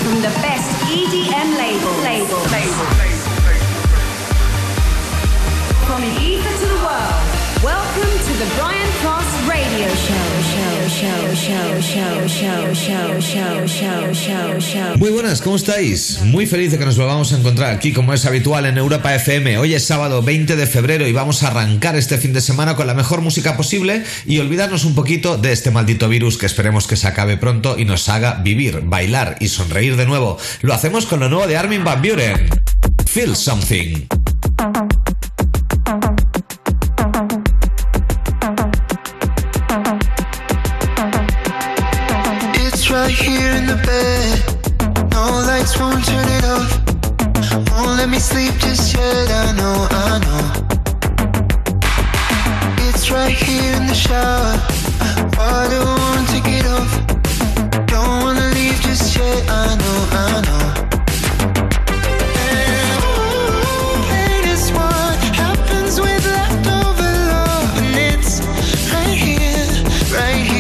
from the best EDM label. From the ether to the world, welcome to the Brian Cross Radio Show. Muy buenas, ¿cómo estáis? Muy feliz de que nos volvamos a encontrar aquí como es habitual en Europa FM. Hoy es sábado 20 de febrero y vamos a arrancar este fin de semana con la mejor música posible y olvidarnos un poquito de este maldito virus que esperemos que se acabe pronto y nos haga vivir, bailar y sonreír de nuevo. Lo hacemos con lo nuevo de Armin van Buuren. Feel Something. Right here in the bed, no lights, won't turn it off. Won't let me sleep just yet, I know. It's right here in the shower, water won't take it off. Don't wanna leave just yet, I know. Pain is what happens with leftover love, and it's right here, right here.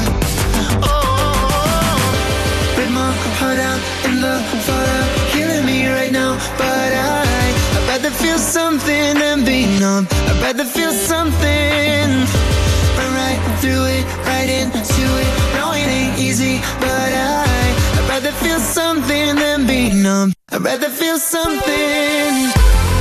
Heart out in the fallout, killing me right now. But I'd rather feel something than be numb. I'd rather feel something. Run right through it, right into it. No, it ain't easy, but I'd rather feel something than be numb. I'd rather feel something.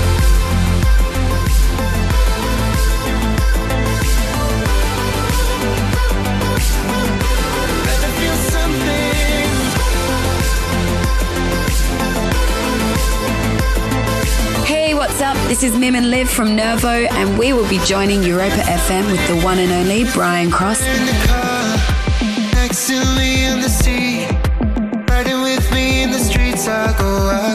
What's up? This is Mim and Liv from Nervo, and we will be joining Europa FM with the one and only Brian Cross. In the car, next to me in the seat, riding with me in the streets, I go.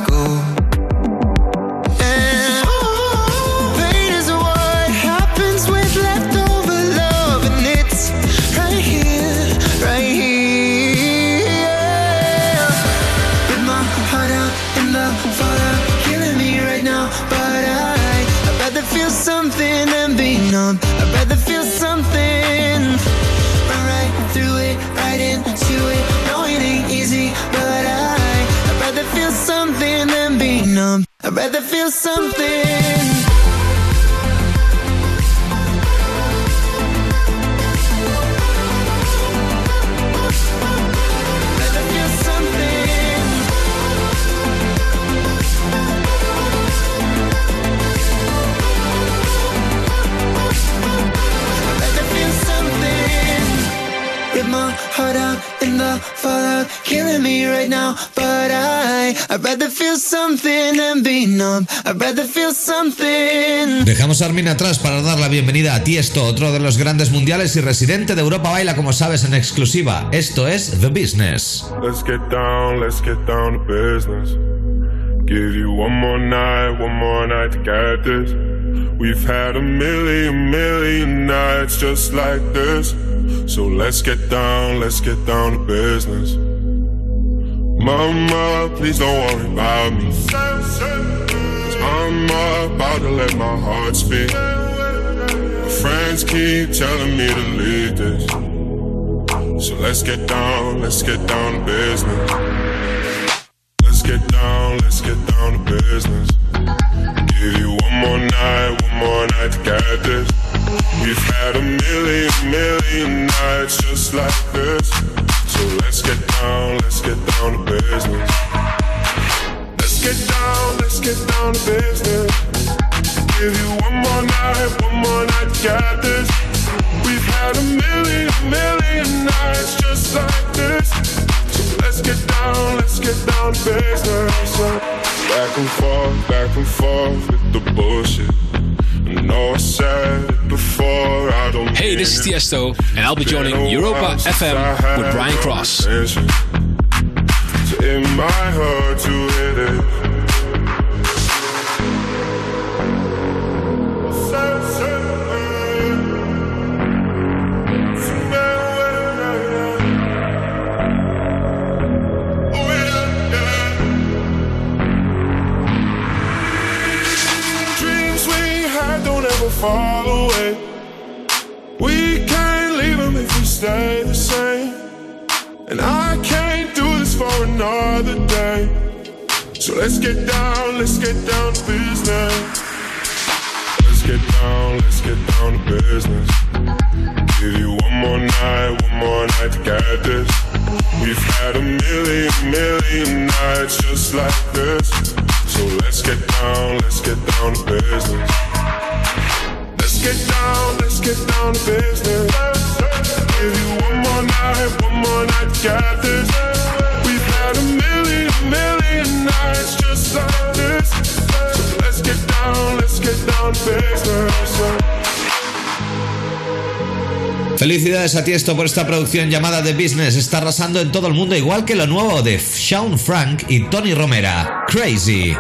And pain is what happens with leftover love, and it's right here, right here. With my heart out in the fallout, killing me right now. I'd rather feel something than be numb. I'd rather feel something. Run right through it, right into it. No, it ain't easy, but I'd rather feel something than be numb. I'd rather feel something. My heart out in the fallout, killing me right now. But I'd rather feel something than be numb. I'd rather feel something. Dejamos a Armin atrás para dar la bienvenida a Tiesto, otro de los grandes mundiales y residente de Europa Baila, como sabes, en exclusiva. Esto es The Business. Let's get down to business. Give you one more night to get this. We've had a million nights just like this. So let's get down to business. Mama, please don't worry about me, 'cause I'm about to let my heart speak. My friends keep telling me to leave this. So let's get down to business. Let's get down to business. Give you one more night to get this. We've had a million nights just like this. So let's get down to business. Let's get down to business. Give you one more night to get this. We've had a million nights just like this. So let's get down to business. Back and forth with the bullshit. Hey, this is Tiesto, and I'll be joining Europa FM with Brian Cross. It might hurt to hit it. Dreams we had don't ever fall away. We can't leave them if we stay the same. And I can't do this for another another day. So let's get down to business. Let's get down to business. Give you one more night to get this. We've had a million nights just like this. So let's get down to business. Let's get down to business. Give you one more night to get this. We've had a million nights just like this. So let's get down to business. Felicidades a Tiesto por esta producción llamada The Business. Está arrasando en todo el mundo, igual que lo nuevo de Shaun Frank y Tony Romera, Crazy.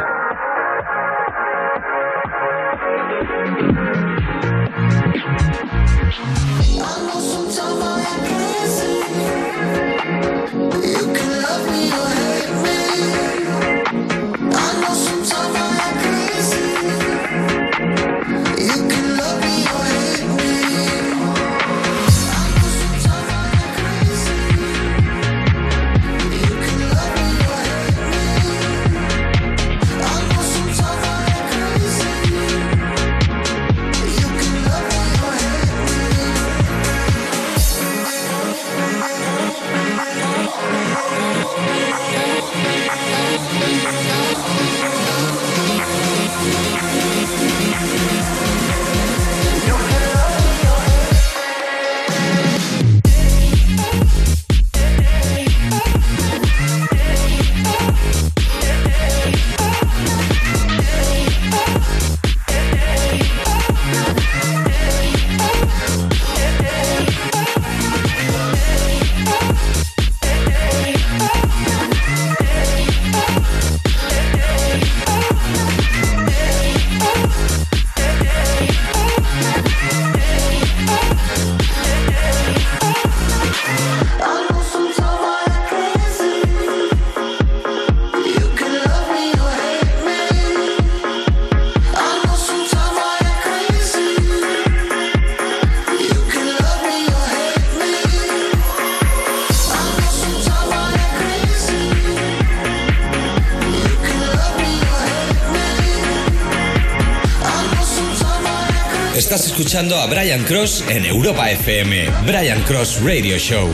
Estás escuchando a Brian Cross en Europa FM. Brian Cross Radio Show.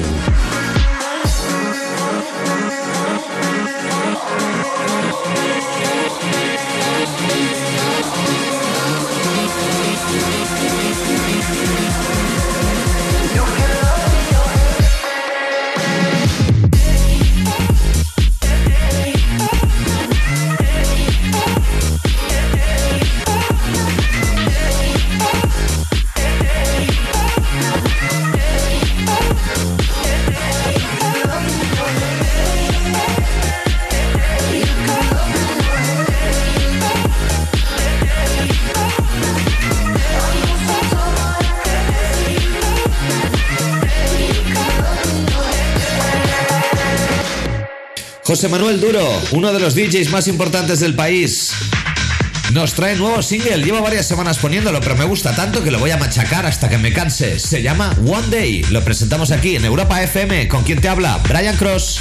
José Manuel Duro, uno de los DJs más importantes del país, nos trae nuevo single. Llevo varias semanas poniéndolo, pero me gusta tanto que lo voy a machacar hasta que me canse. Se llama One Day. Lo presentamos aquí en Europa FM. ¿Con quién te habla? Brian Cross.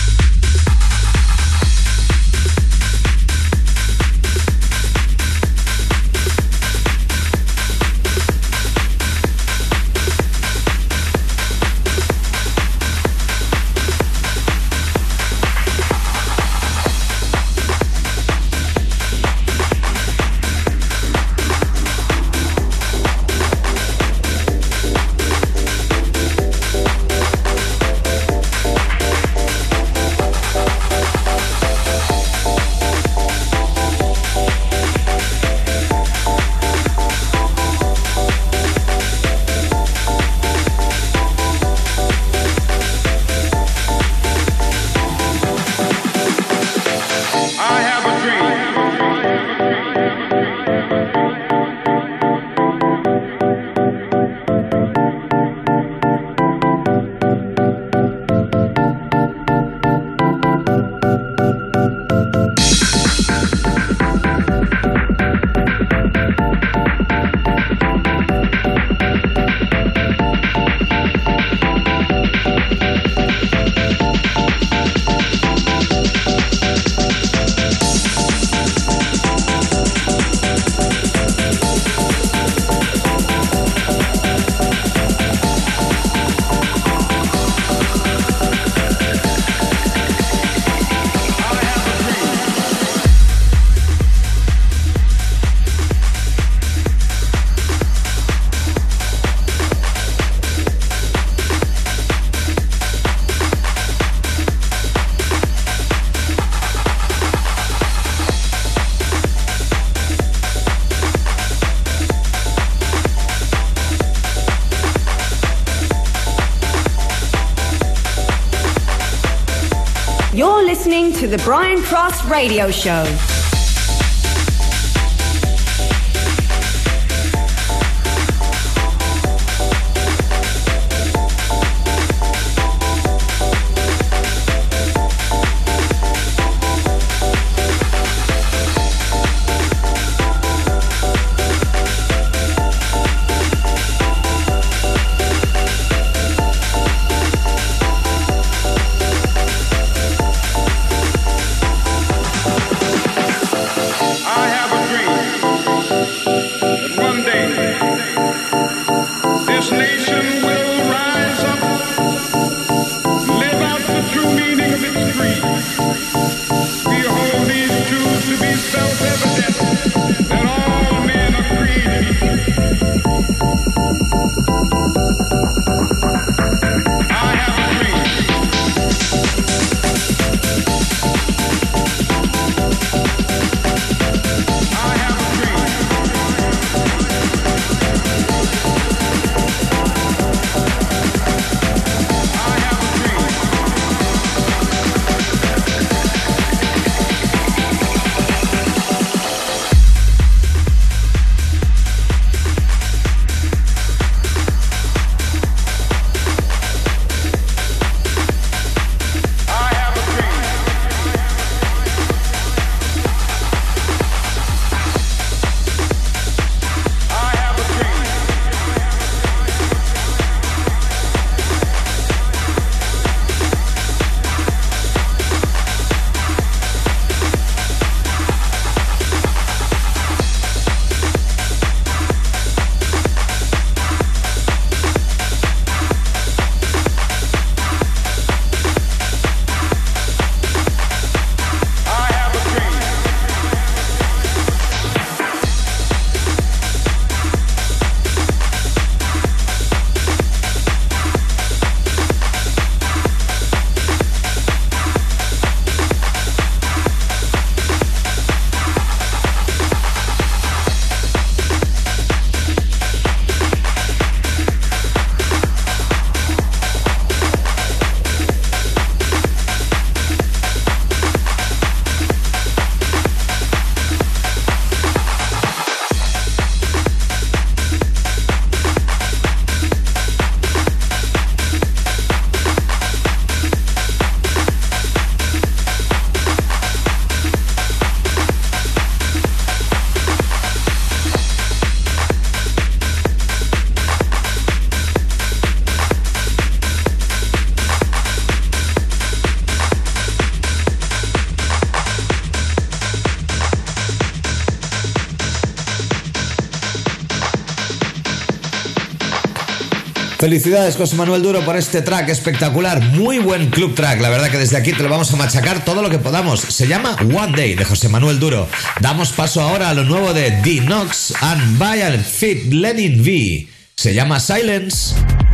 to the Brian Cross Radio Show. Felicidades, José Manuel Duro, por este track espectacular. Muy buen club track. La verdad que desde aquí te lo vamos a machacar todo lo que podamos. Se llama One Day, de José Manuel Duro. Damos paso ahora a lo nuevo de D-Nox and Bayern Fit Lenin V. Se llama Silence.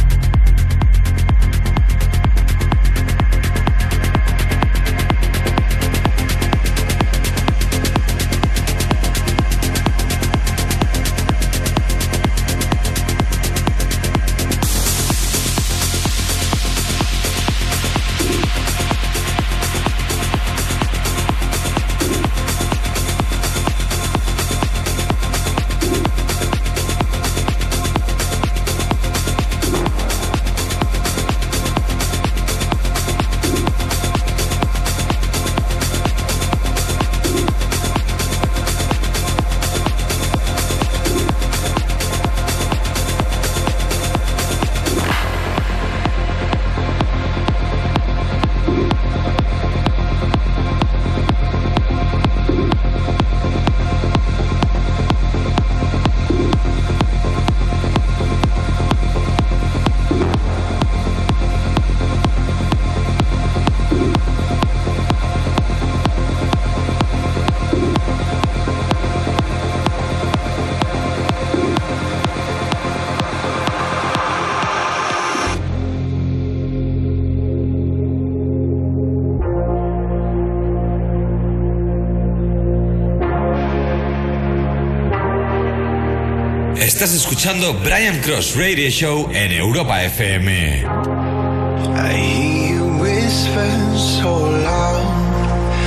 Estás escuchando Brian Cross Radio Show en Europa FM. I hear you whisper so loud.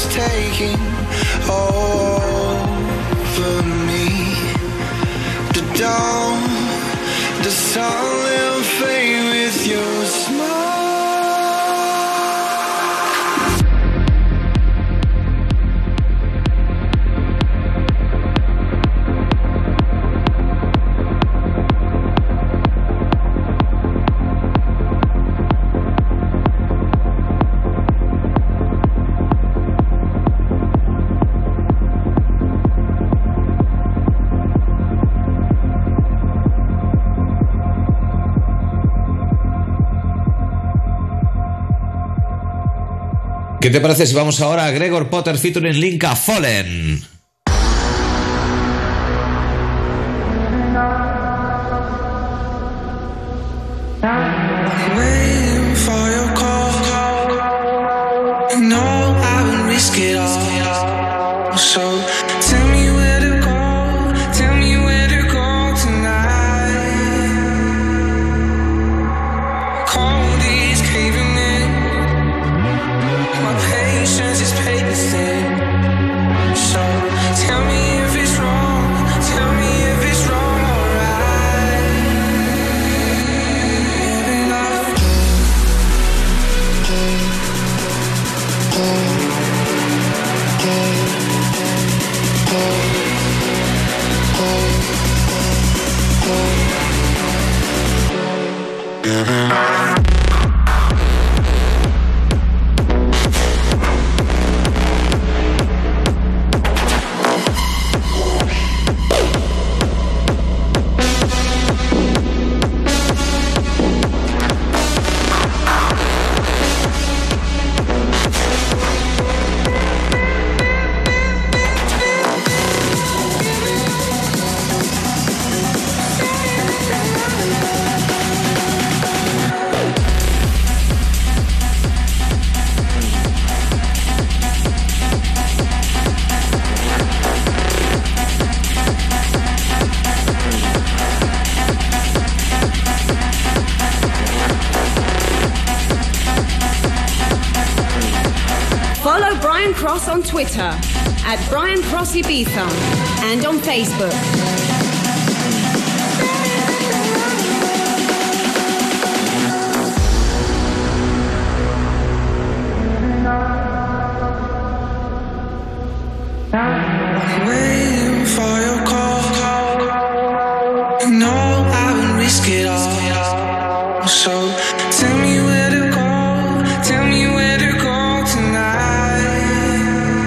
taking over me. The dawn, the sun will fade with your smile. ¿Qué te parece si vamos ahora a Gregor Potter featuring Linka Fallen? Waiting for your call. You know I wouldn't risk it all. So tell me where to go. Tell me where to go tonight. Cold is caving in. My patience is paper thin. So tell me if it's wrong. Tell me if it's wrong, alright. Living off. Follow Brian Cross on Twitter at Brian Cross Ibiza and on Facebook. Waiting for your call. You know I wouldn't risk it all. So tell me where to go. Tell me where to go tonight.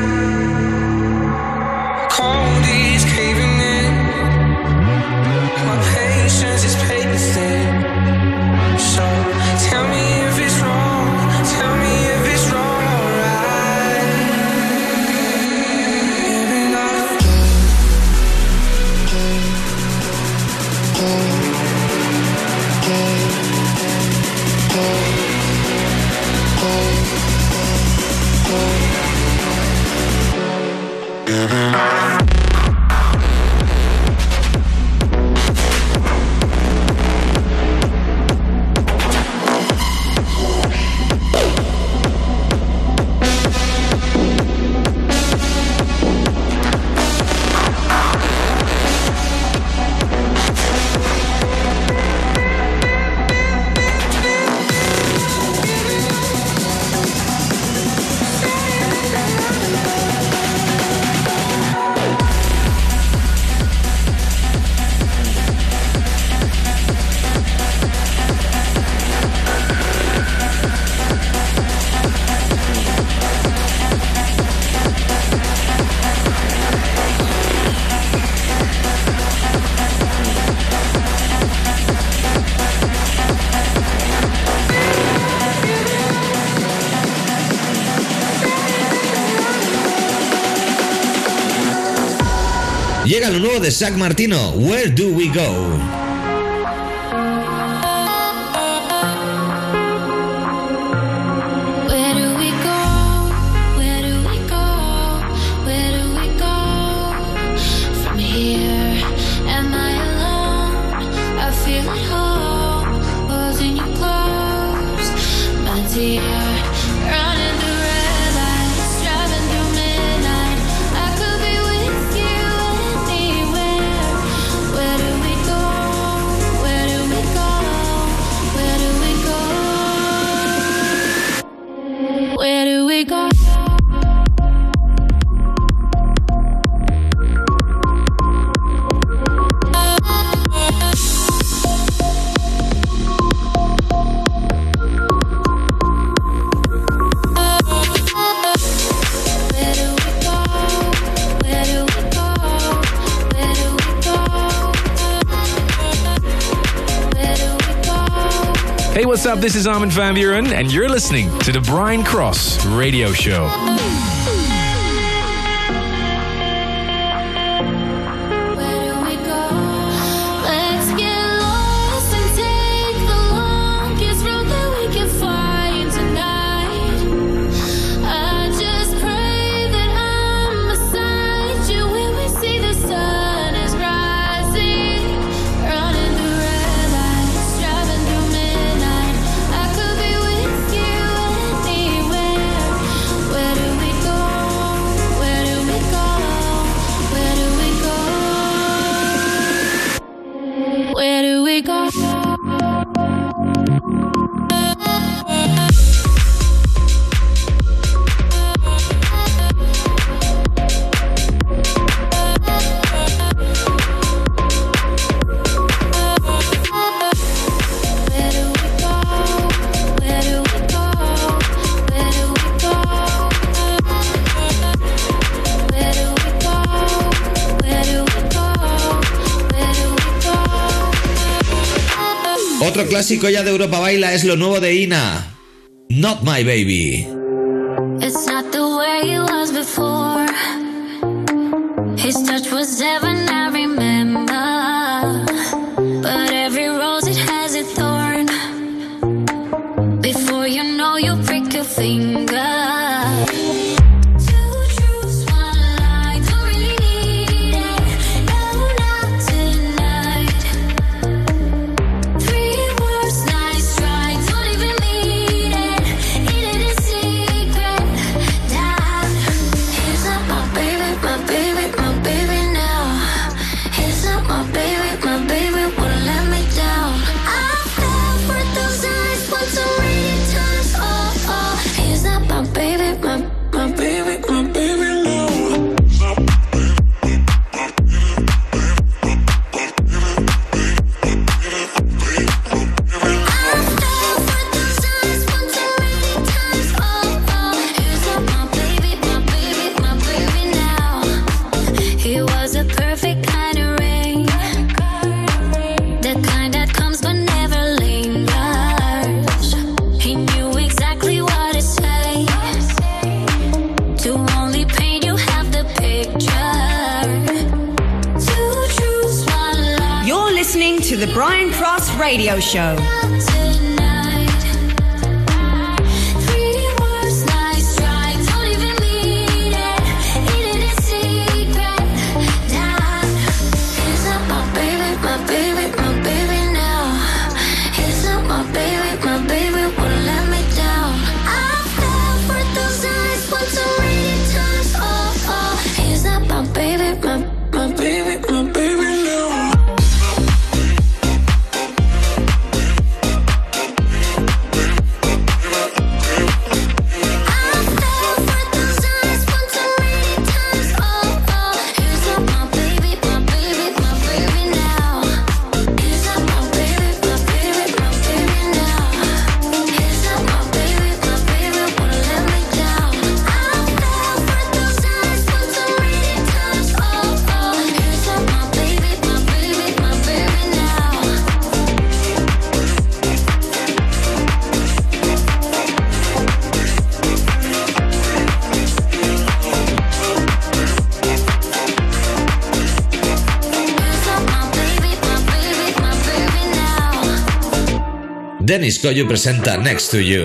Cold is caving in. My patience is paper thin. So tell me if it's wrong. Tell me if it's wrong, alright. Living off. Llega lo nuevo de Zach Martino, Where Do We Go? Where do we go? Where do we go? Where do we go from here? Am I alone? I feel at home, holding you close, my dear. Running through red lights, driving through Hey, what's up? This is Armin van Buuren, and you're listening to the Brian Cross Radio Show. Otro clásico ya de Europa Baila es lo nuevo de Ina, Not My Baby. It's not the way it was before. His touch was heaven, I remember. But every rose, it has a thorn. Before you know, you prick your finger. The Brian Cross Radio Show. Dennis Koyu presenta Next to You.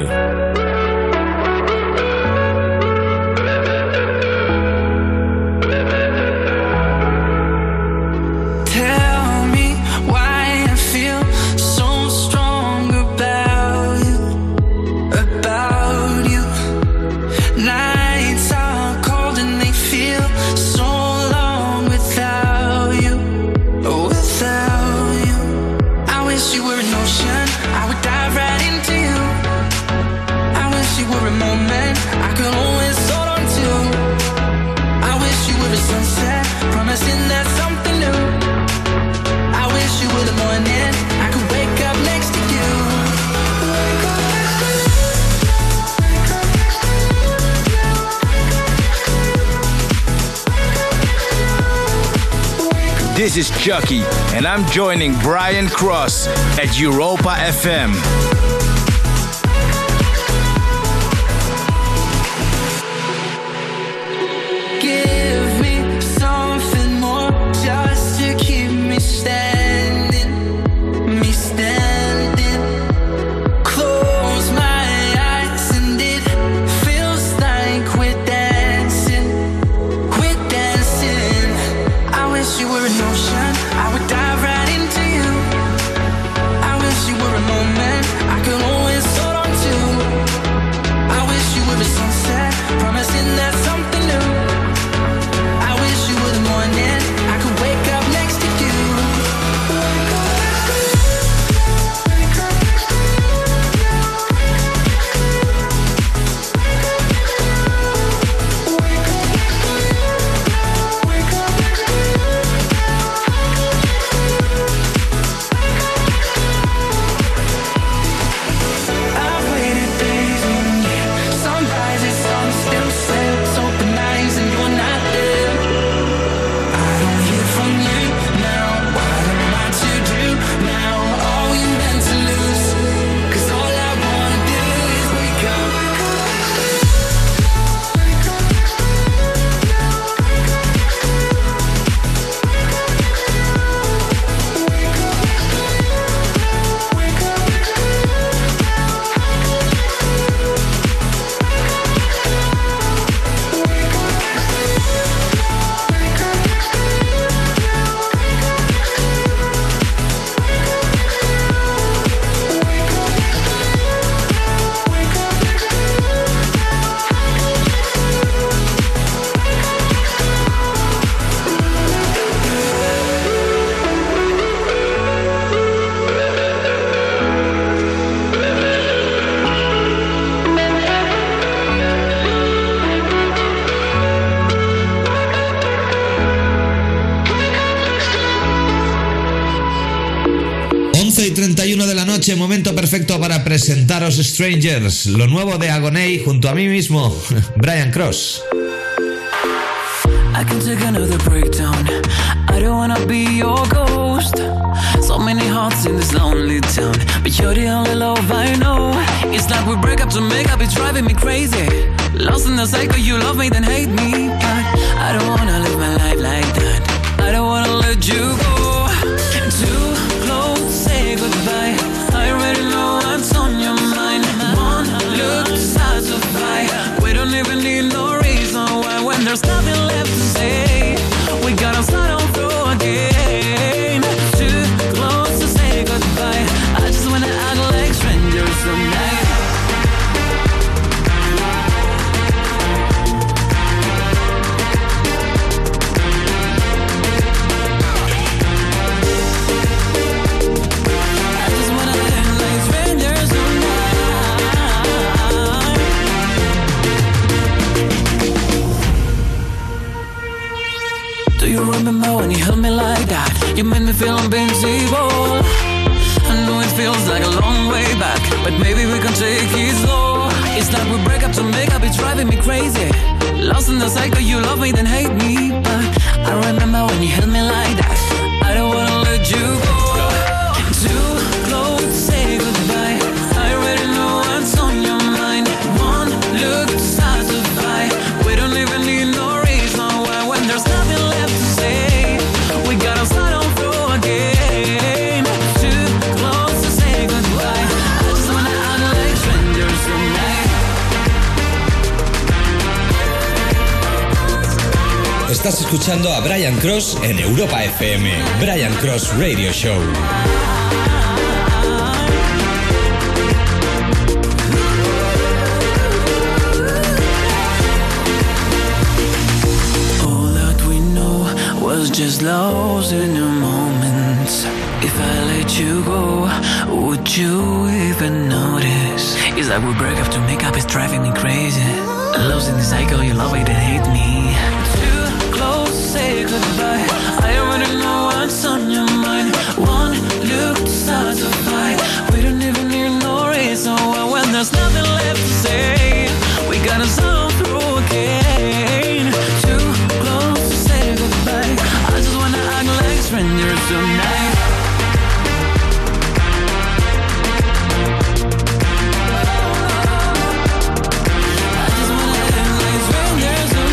This is Chucky, and I'm joining Brian Cross at Europa FM. Give me something more just to keep me standing, Close my eyes and it feels like we're dancing. I wish you were an ocean, I would dive right into you. I wish you were a moment I could always hold on to. I wish you were a sunset, promising that something new. I wish you were the morning I could wake up next to you. I've waited days and years, sunrises, sun still sets, open eyes and you're not there. I don't hear from you now. What am I to do now? Are we meant to lose? 'Cause all I wanna do is wake up. Y 31 de la noche, momento perfecto para presentaros Strangers, lo nuevo de Agoney junto a mí mismo, Brian Cross. I can take another breakdown. I don't wanna be your ghost. So many hearts in this lonely town, but you're the only love I know. It's like we break up to make up, it's driving me crazy. Lost in the cycle, you love me then hate me, but I don't wanna live my life like that. I don't wanna let you go. Too close, say goodbye. I already know what's on your mind. One look to satisfy. We don't even need no reason why. When there's nothing left to say, we gotta start all through again. Too close to say goodbye. I just wanna act like strangers tonight. Do you remember when you held me like that? You made me feel invincible. I know it feels like a long way back, but maybe we can take it slow. It's like we break up to make up, it's driving me crazy. Lost in the cycle, you love me then hate me, but I remember when you held me like that. I don't wanna let you go. Too close, say goodbye. I already know what's on your mind. One look to satisfy. We don't even need no reason why. When there's nothing left to say, we gotta start all through again. Too close to say goodbye. I just wanna act like strangers tonight. Estás escuchando a Brian Cross en Europa FM. Brian Cross Radio Show. All that we know was just lost in the moments. If I let you go, would you even notice? It's like we break up to make up, it's driving me crazy. Lost in the cycle, you love it and hate me. Too close, say goodbye. I already know what's on your mind. One look to satisfy. We don't even need no reason why. When there's nothing left to say, we gotta start through again. Too close to say goodbye. I just wanna act like tonight. I just wanna live like it's rain, there's no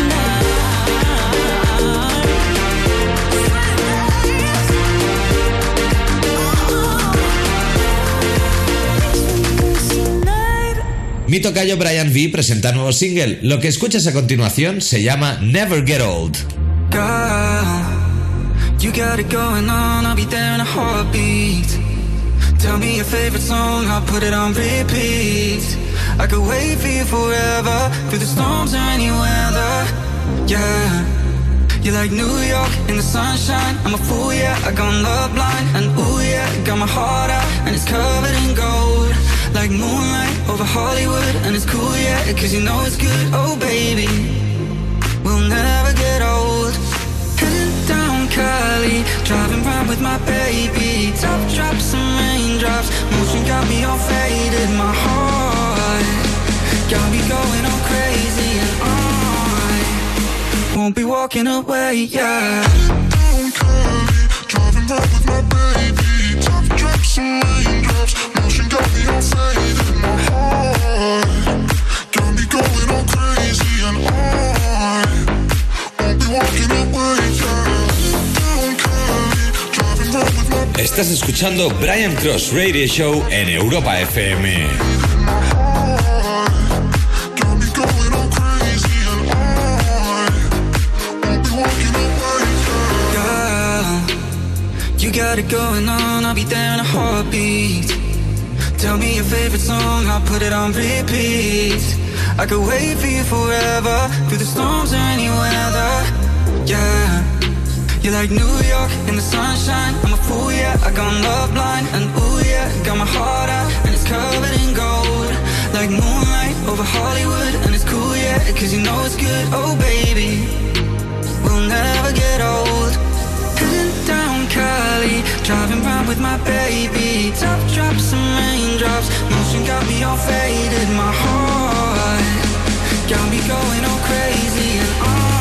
Mi tocayo Brian V presenta nuevo single. Lo que escuchas a continuación se llama Never Get Old. Girl, you got it going on, I'll be there in a heartbeat. Tell me your favorite song, I'll put it on repeat. I could wait for you forever, through the storms or any weather. Yeah, you're like New York in the sunshine. I'm a fool, yeah, I gone love blind. And ooh yeah, got my heart out, and it's covered in gold. Like moonlight over Hollywood, and it's cool, yeah, cause you know it's good. Oh baby, we'll never get old. Heading down Cali, driving round with my baby. Top drops and raindrops, motion got me all faded. My heart got me going all crazy, and I won't be walking away, yeah. Down Cali, driving round with my baby. Top drops and raindrops, motion got me all faded. My heart got me going all crazy, and I won't be walking away, yeah. Down Cali, driving round with my baby. Estás escuchando Brian Cross Radio Show en Europa FM. You got it going on, I'll be there in a heartbeat. Tell me your favorite song, I'll put it on repeat. I could wait for you forever, through the storms or any weather. Yeah, you're like New York in the sunshine. I'm a fool, yeah, I gone love blind. And ooh yeah, got my heart out, and it's covered in gold. Like moonlight over Hollywood, and it's cool, yeah, cause you know it's good. Oh baby, we'll never get old. Heading down Cali, driving round with my baby. Top drops and raindrops, motion got me all faded. My heart got me going all crazy, and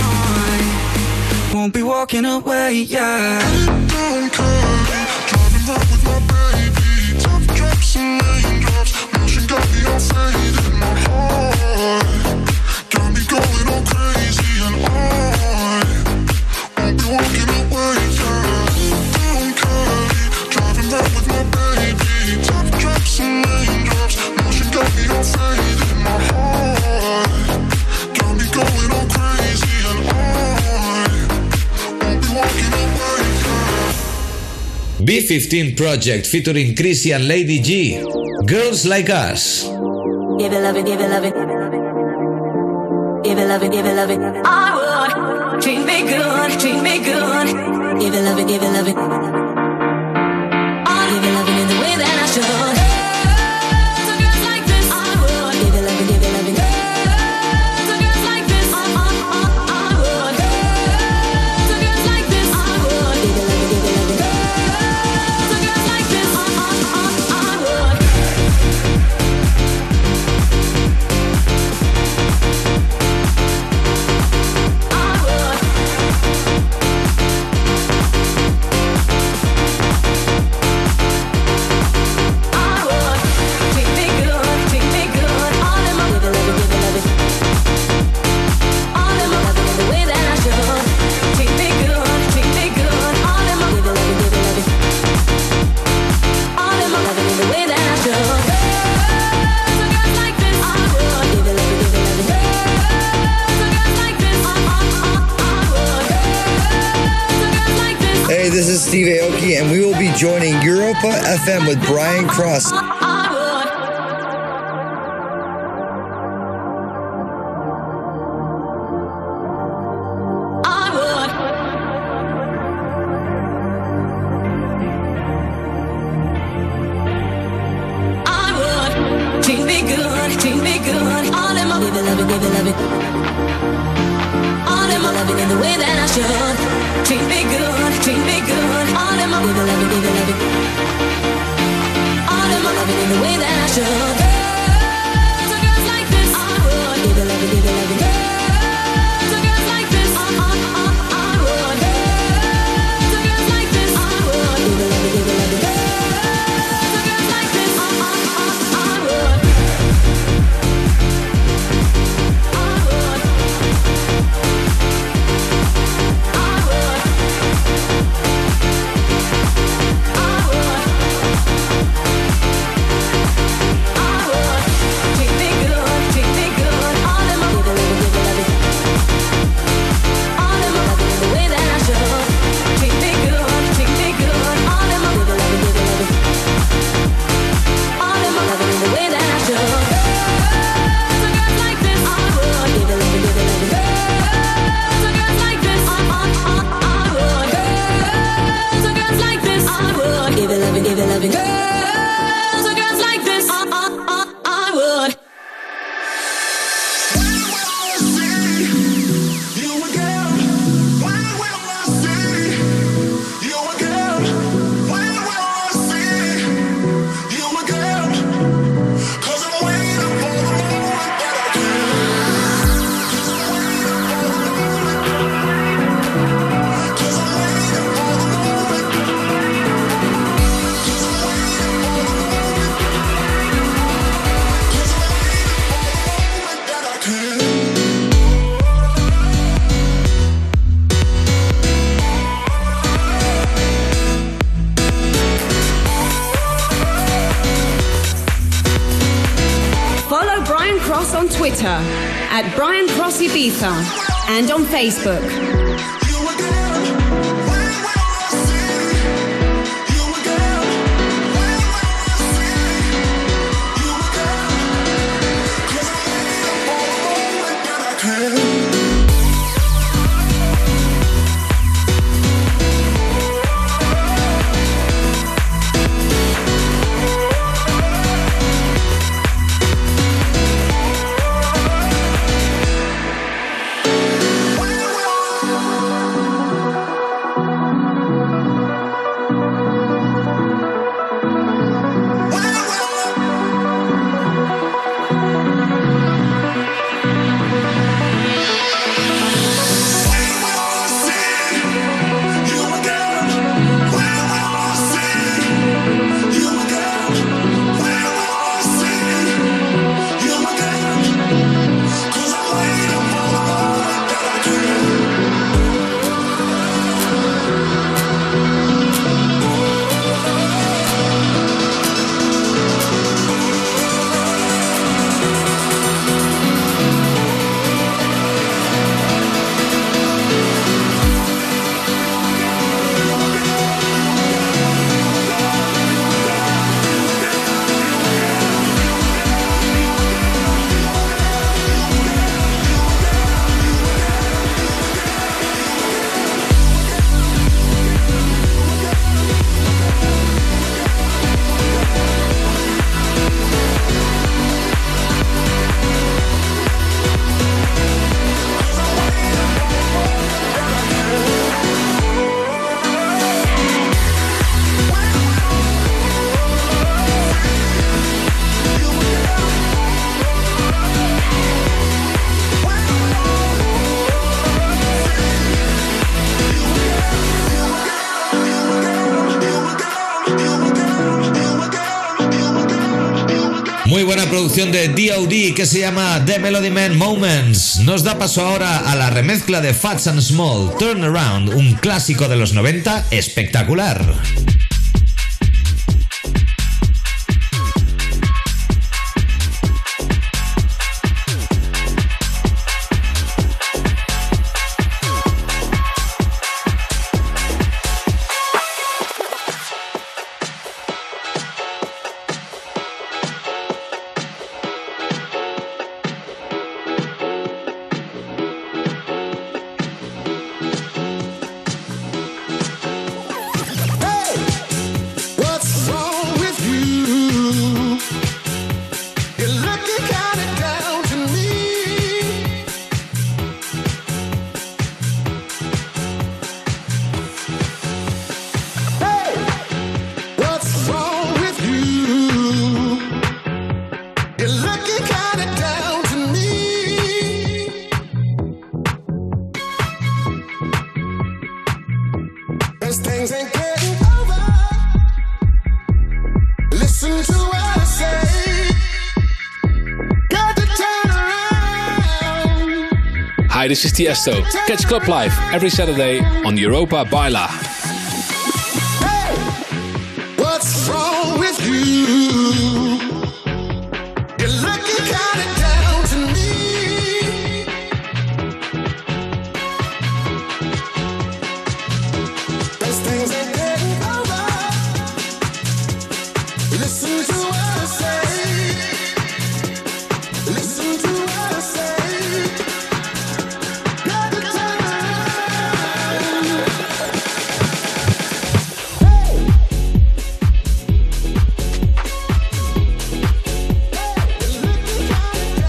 I won't be walking away, yeah. Down Cali, driving round with my baby. Top drops and raindrops, motion got me all faded. My heart got me going all crazy, and I won't be walking away, yeah. Down Cali, driving round with my baby. Top drops and raindrops, motion got me all faded. My heart got me going all crazy, and I won't be walking away, yeah. B15 Project featuring Chrissy and Lady G. Girls Like Us. Give it, love it, give it, love it. Give it, love it, give it, love it. I would treat me good, treat me good. Give it, love it, give it, love it. I'll give it, love it in the way that I should. To girls like this, I would give it, love it, give it, love it. To girls like this, I would. To girls like this, I would give it, love it, give it, love it. To girls like this, I would. Hey, this is Steve Aoki, and we will be joining Europa FM with Brian Cross. Treat me good, all in my, give it, love it, give it, love it. All in my, love it. Twitter at Brian Cross Ibiza and on Facebook. Muy buena producción de D.O.D. que se llama The Melody Man Moments. Nos da paso ahora a la remezcla de Fats and Small, Turn Around, un clásico de los 90 espectacular. Hi, this is Tiesto. Catch Club Live every Saturday on Europa Baila. Hey, what's wrong with you? You're looking kinda down to me. Those things ain't getting over. Listen to what I say. Listen to what I say. Looking kinda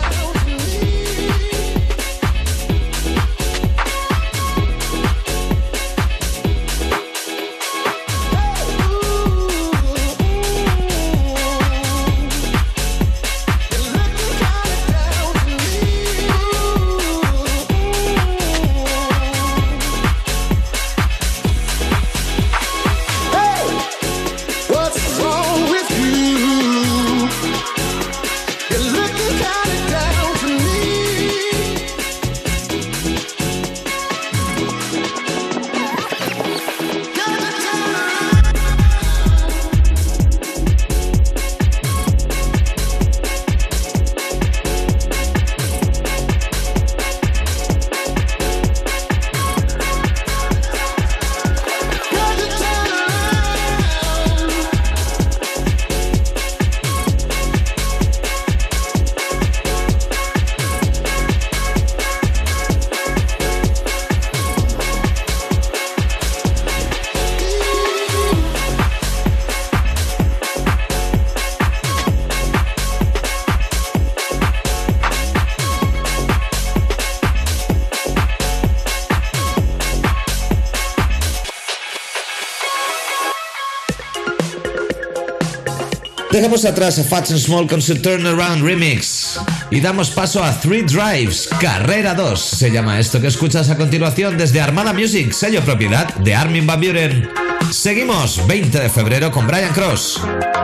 Dejamos atrás a Fats and Small con su Turnaround Remix y damos paso a Three Drives, Carrera 2 se llama esto que escuchas a continuación desde Armada Music, sello propiedad de Armin van Buuren. Seguimos 20 de febrero con Brian Cross.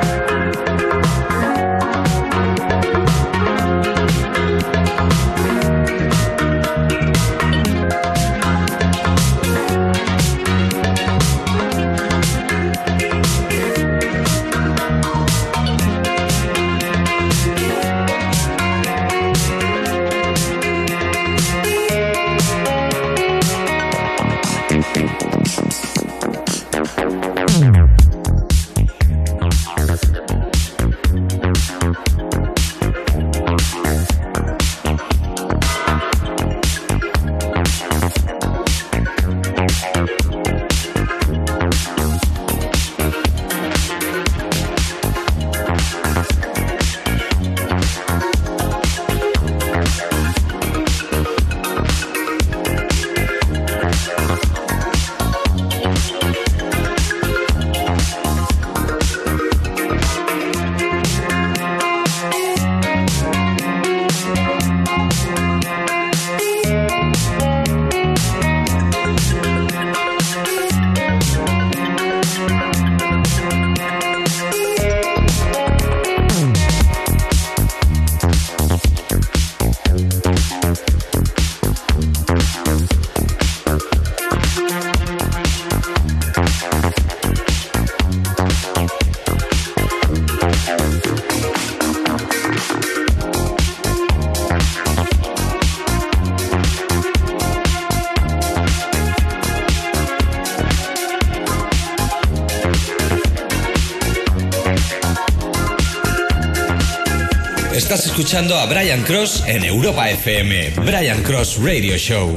Estás escuchando a Brian Cross en Europa FM. Brian Cross Radio Show.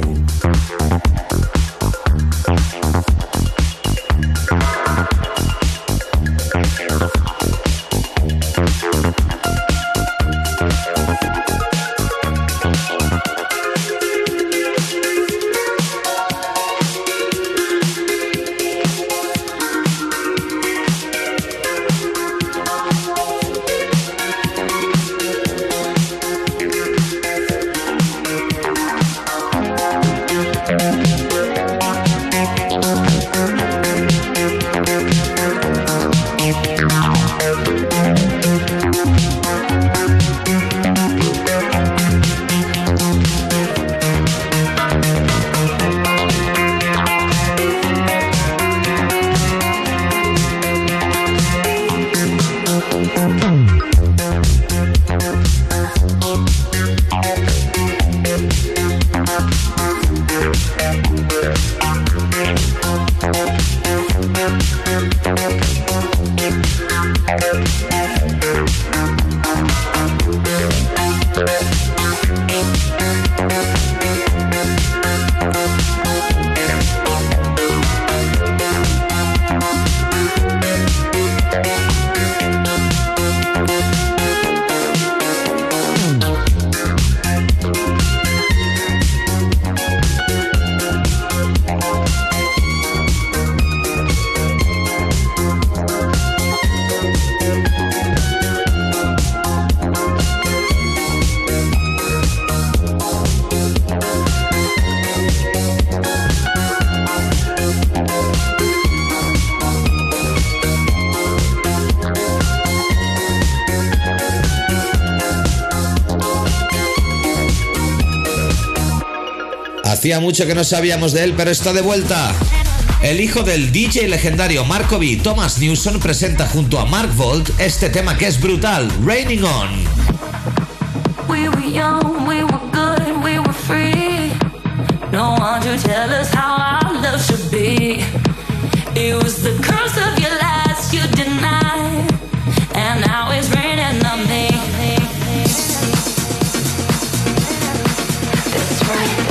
Hacía mucho que no sabíamos de él, pero está de vuelta. El hijo del DJ legendario Marco B, Thomas Newson, presenta junto a Mark Volt este tema que es brutal, Raining On. We were young, we were good and we were free. No one to tell us how our love should be. It was the curse of your last you denied, and now it's raining on me. That's right.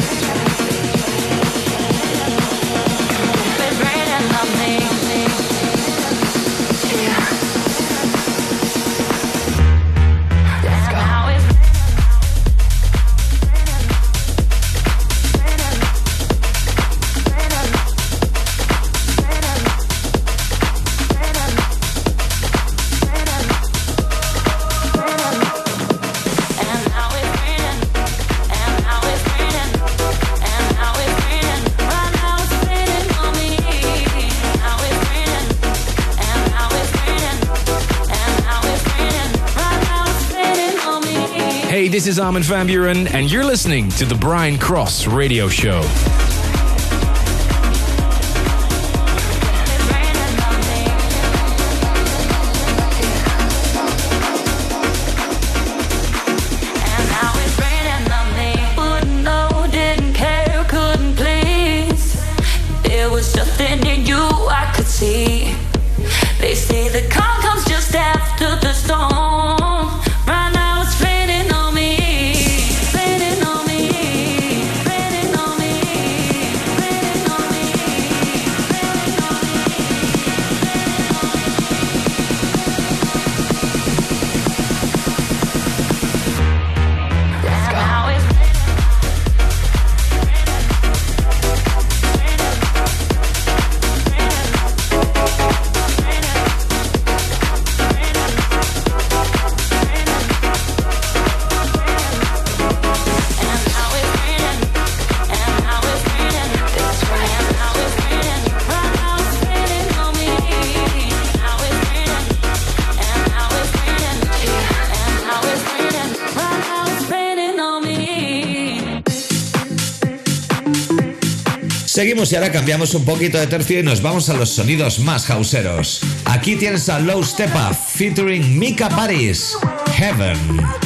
this is Armin van Buuren, and you're listening to the Brian Cross Radio Show. They say the calm comes just after the storm. Right now it's raining on me, raining on me, raining on me, raining on me, raining on me. Now it's Seguimos y ahora cambiamos un poquito de tercio y nos vamos a los sonidos más houseeros. Aquí tienes a Low Step Up featuring Mika Paris, Heaven.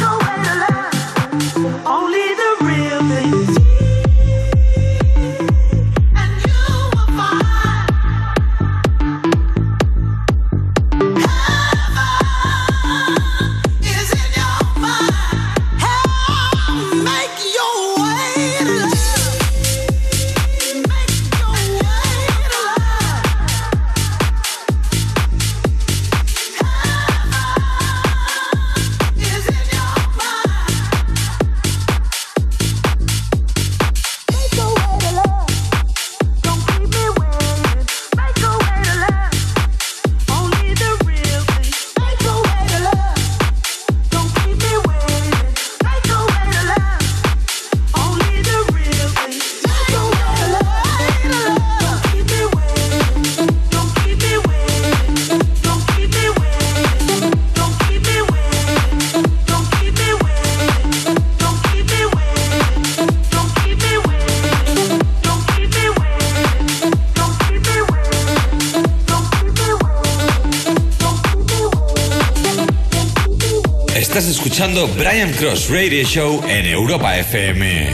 Estás escuchando Brian Cross Radio Show en Europa FM.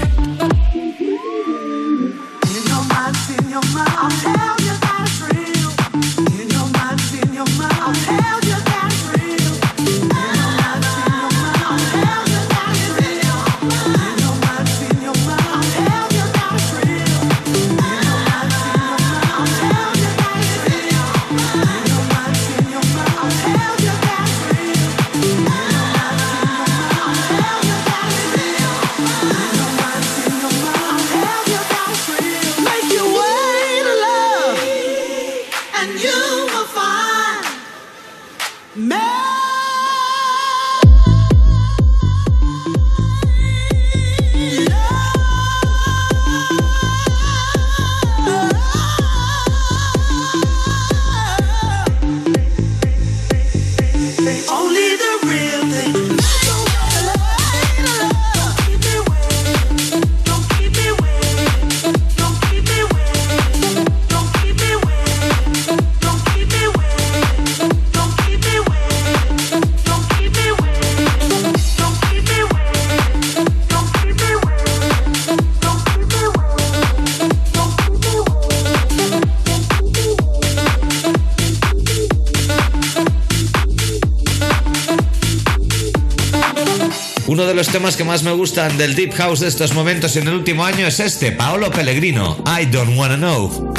Uno de los temas que más me gustan del Deep House de estos momentos en el último año es este, Paolo Pellegrino, I Don't Wanna Know.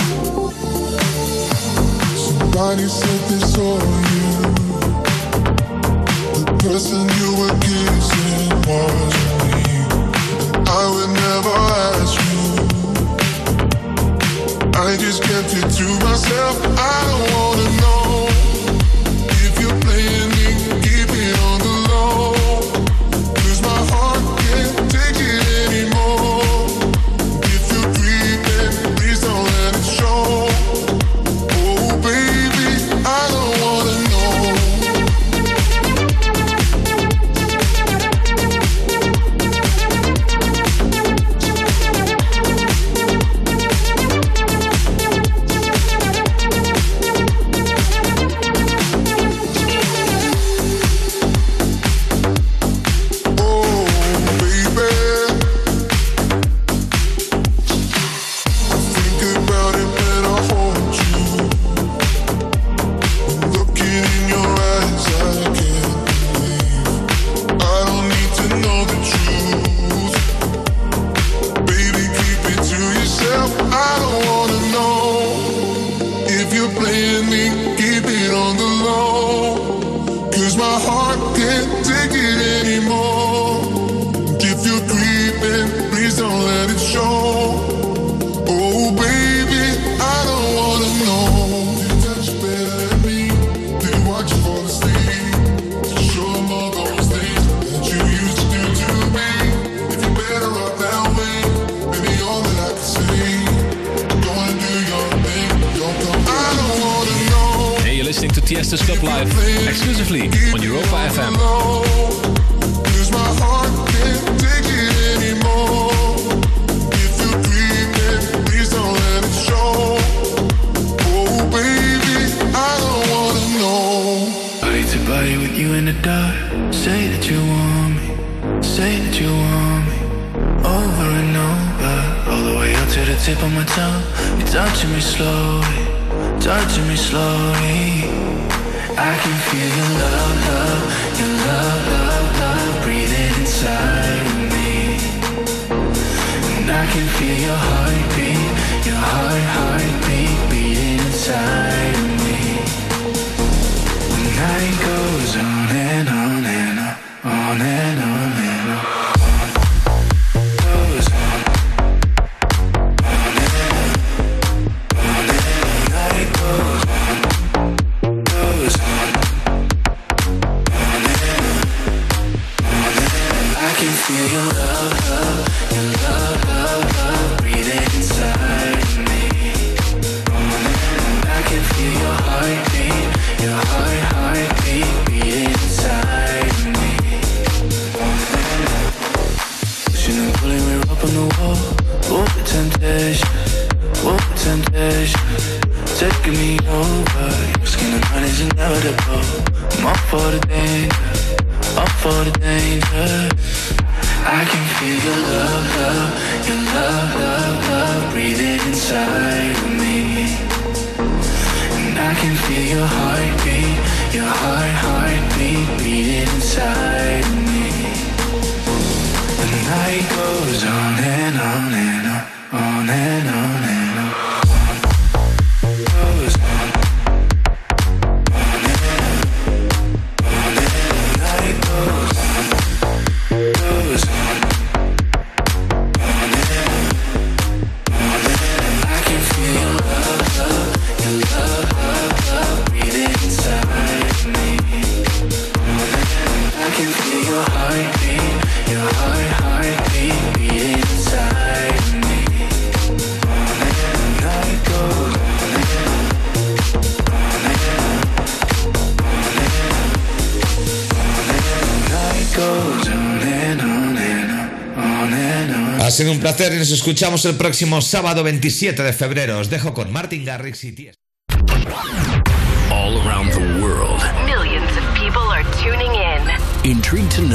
Somebody said this all you. The person you were kissing wasn't me. I would never ask you. I just kept it to myself. I don't wanna know if you're playing me, keep it on the low. My heart can't take it anymore. If you're creeping, please don't let it show. Oh baby, I don't wanna know. listening to Tiesto's Club Live exclusively on Europa FM. Cause my heart can't take it anymore. If you're dreaming, please don't let it show. Oh baby, I don't wanna know. Body to body with you in the dark. Say that you want me. Say that you want me. Over and over. All the way up to the tip of my tongue. You're touching me slowly. Touching me slowly. I can feel your love, love. Your love, love, love. Breathing inside of me. And I can feel your heartbeat. Your heartbeat beating inside of me. The night goes on and on and on. On and on and on. Goes on. On and on. On and on. The night goes on. Goes on. On and on. On and on. I can feel your love, love. Your love, love, love. Breathing inside of me. On and on. I can feel your heartbeat. Your heartbeat beating inside of me. Pushing and pulling, we're up on the wall. Oh, the temptation. Oh, the temptation. Taking me over. Your skin and mine is inevitable. I'm up for the danger. Up for the danger. I can feel your love, love. Your love, love, love. Breathing inside of me. And I can feel your heartbeat. Your heartbeat beating inside of me. The night goes on and on and on. On and on and on. Goes on. On and on. On and on. The night goes on. Goes on. On and on. On and on. I can feel your love, love. Your love, love, love. Breathing inside of me. On and on. I can feel your heartbeat. Your heartbeat beating inside of me. On and on. The night goes on and on. On and on. On and on. On and on. The night goes on and on and on. On and on. Ha sido un placer y nos escuchamos el próximo sábado 27 de febrero. Os dejo con Martin Garrix y Tiesto. All around the world. Millions of people are tuning in. Intrigued to know